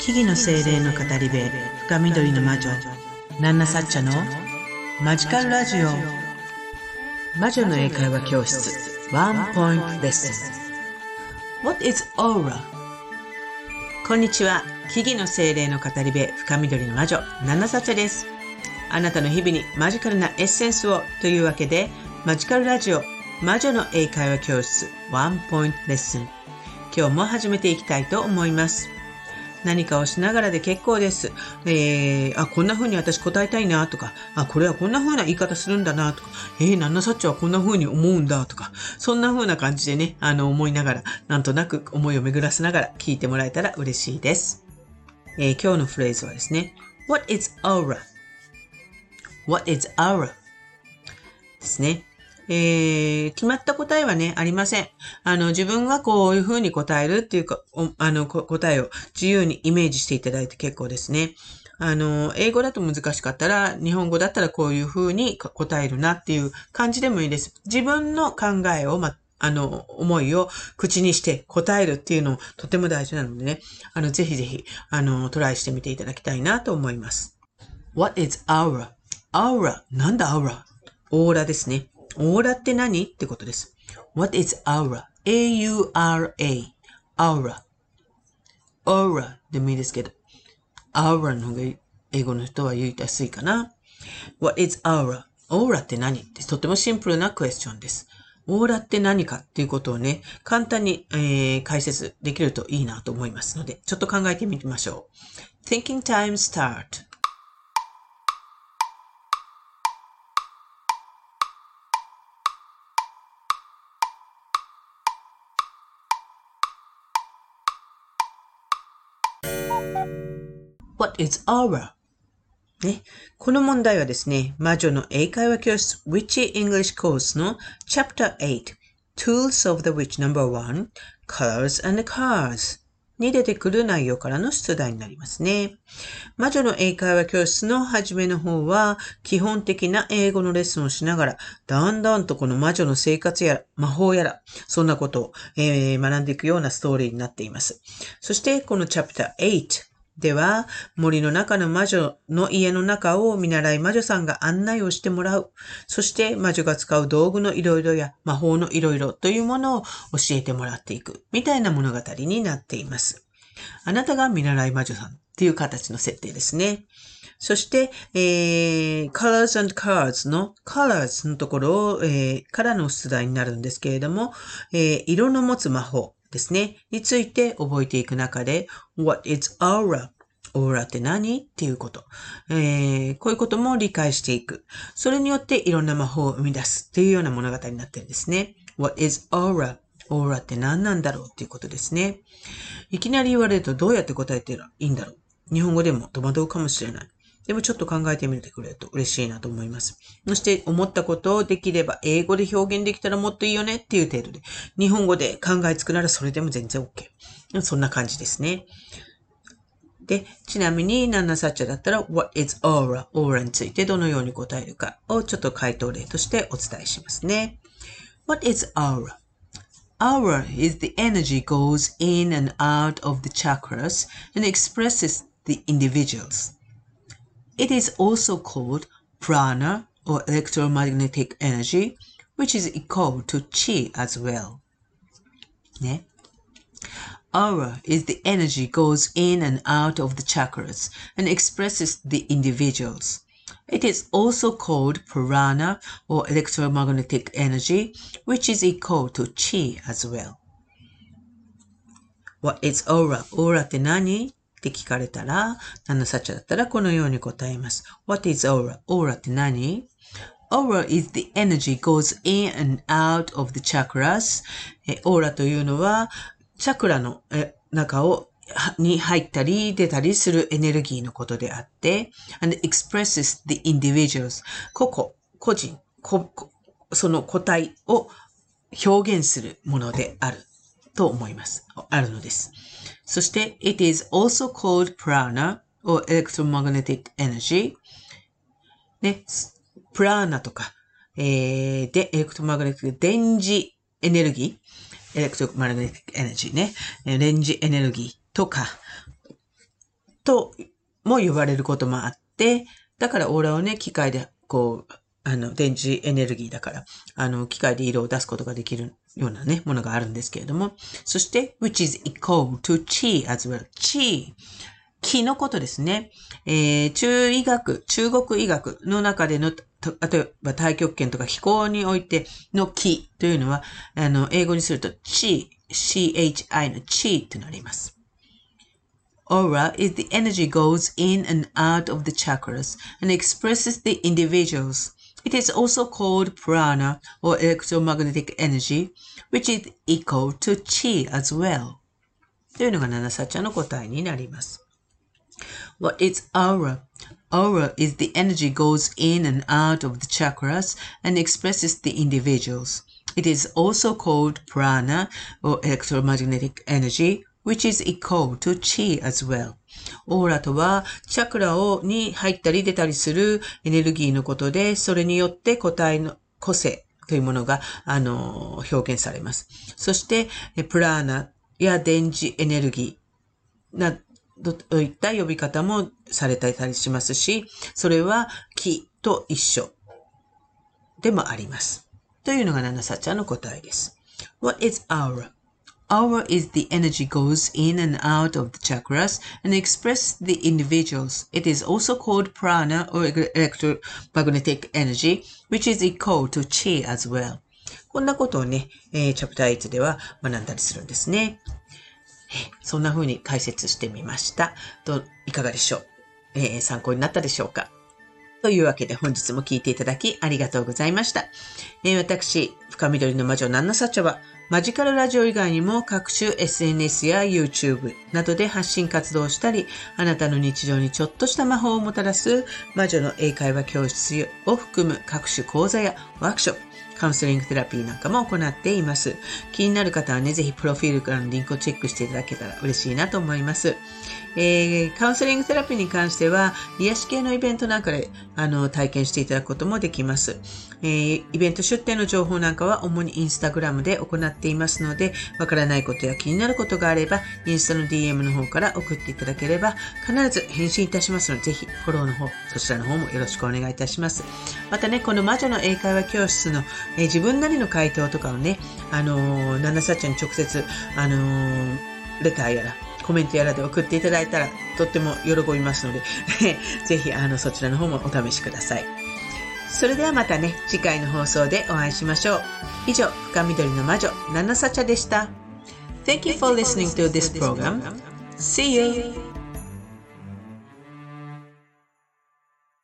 木々の精霊の語り部、深緑の魔女、ナンナサッチャのマジカルラジオ。魔女の英会話教室、ワンポイントレッスン。What is aura? こんにちは。木々の精霊の語り部、深緑の魔女、ナンナサッチャです。あなたの日々にマジカルなエッセンスをというわけで、マジカルラジオ、魔女の英会話教室、ワンポイントレッスン。今日も始めていきたいと思います。何かをしながらで結構です。こんな風に私答えたいなとか、これはこんな風な言い方するんだなとか、ナンナサッチャはこんな風に思うんだとか、そんな風な感じでね、思いながら、なんとなく思いを巡らせながら聞いてもらえたら嬉しいです。今日のフレーズはですね、What is aura? What is aura? ですね。決まった答えはね、ありません。自分がこういう風に答えるっていうか、答えを自由にイメージしていただいて結構ですね。英語だと難しかったら、日本語だったらこういう風に答えるなっていう感じでもいいです。自分の考えを、思いを口にして答えるっていうのもとても大事なのでね、ぜひぜひ、トライしてみていただきたいなと思います。What is aura? Aura? なんだ aura? オーラですね。オーラって何ってことです。What is aura? A-U-R-A. aura. aura でもいいですけど、aura の方が英語の人は言いやすいかな。What is aura? オーラって何ってとてもシンプルなクエスチョンです。オーラって何かっていうことをね、簡単に、解説できるといいなと思いますので、ちょっと考えてみましょう。Thinking time start.What is aura? ね、この問題はですね、魔女の英会話教室 Witchy English Course の Chapter 8 Tools of the Witch No.1 Colors and Cards に出てくる内容からの出題になりますね。魔女の英会話教室の初めの方は基本的な英語のレッスンをしながらだんだんとこの魔女の生活やら魔法やらそんなことを、学んでいくようなストーリーになっています。そしてこの Chapter 8では、森の中の魔女の家の中を見習い魔女さんが案内をしてもらう。そして魔女が使う道具のいろいろや魔法のいろいろというものを教えてもらっていく。みたいな物語になっています。あなたが見習い魔女さんっていう形の設定ですね。そして、colors and cards の colors のところを、からの出題になるんですけれども、色の持つ魔法。ですね。について覚えていく中で、What is aura? オーラって何っていうこと、こういうことも理解していく。それによっていろんな魔法を生み出すっていうような物語になってるんですね。What is aura? オーラって何なんだろうっていうことですね。いきなり言われるとどうやって答えていいんだろう。日本語でも戸惑うかもしれない。でもちょっと考えてみてくれると嬉しいなと思います。そして思ったことをできれば英語で表現できたらもっといいよねっていう程度で、日本語で考えつくならそれでも全然 OK。そんな感じですね。で、ちなみにナンナサッチャだったら What is aura? オーラについてどのように答えるかをちょっと回答例としてお伝えしますね。What is aura? Aura is the energy goes in and out of the chakras and expresses the individuals.It is also called prana or electromagnetic energy, which is equal to chi as well. ね。Aura is the energy goes in and out of the chakras and expresses the individuals. It is also called prana or electromagnetic energy, which is equal to chi as well. What is aura? Aura って何って聞かれたら、ナンナサッチャだったらこのように答えます。What is aura? オーラって何？ Aura is the energy goes in and out of the chakras. オーラというのは、チャクラの中に入ったり出たりするエネルギーのことであって、and expresses the individuals. 個人、その個体を表現するものであると思います。あるのです。そして、it is also called prana or electromagnetic energy. ね、プラーナとか、エレクトマグネティック、電磁エネルギー、エレクトマグネティックエネルギーね、電磁エネルギーとか、 とも言われることもあって、だからオーラをね、機械で電池エネルギーだから、機械で色を出すことができるようなね、ものがあるんですけれども、そして、which is equal to qi as well. qi。気のことですね。中国医学の中での、例えば太極拳とか気功においての気というのは、英語にするとchi、chi の chi となります。Aura is the energy goes in and out of the chakras and expresses the individuals. It is also called prana or electromagnetic energy, which is equal to chi as well. というのが七サッチャの答えになります。What is aura? Aura is the energy goes in and out of the chakras and expresses the individuals. It is also called prana or electromagnetic energy, which is equal to chi as well. オーラとは、チャクラに入ったり出たりするエネルギーのことで、それによって個体の個性というものが、表現されます。そして、プラーナや電磁エネルギーなどといった呼び方もされたりしますし、それは気と一緒でもあります。というのがナナサッチャの答えです。What is aura? Aura is the energy goes in and out of the chakras and expresses the individuals. It is also called prana or electromagnetic energy, which is equal to chi as well. こんなことをね、チャプター8では学んだりするんですね。そんな風に解説してみました。いかがでしょう、参考になったでしょうか。というわけで本日も聞いていただきありがとうございました。私、深緑の魔女ナンナサッチャはマジカルラジオ以外にも各種 SNS や YouTube などで発信活動をしたり、あなたの日常にちょっとした魔法をもたらす魔女の英会話教室を含む各種講座やワークショップ、カウンセリングセラピーなんかも行っています。気になる方はね、ぜひプロフィールからのリンクをチェックしていただけたら嬉しいなと思います。カウンセリングセラピーに関しては、癒し系のイベントなんかで体験していただくこともできます。イベント出店の情報なんかは主にインスタグラムで行っていますので、わからないことや気になることがあれば、インスタの DM の方から送っていただければ、必ず返信いたしますので、ぜひフォローの方、そちらの方もよろしくお願いいたします。またね、この魔女の英会話教室の、自分なりの回答とかをね、ナナサッチャに直接、レターやら、コメントやらで送っていただいたらとっても喜びますのでぜひそちらの方もお試しください。それではまたね、次回の放送でお会いしましょう。以上、深緑の魔女ナナサチャでした。Thank you for listening to this program. See you!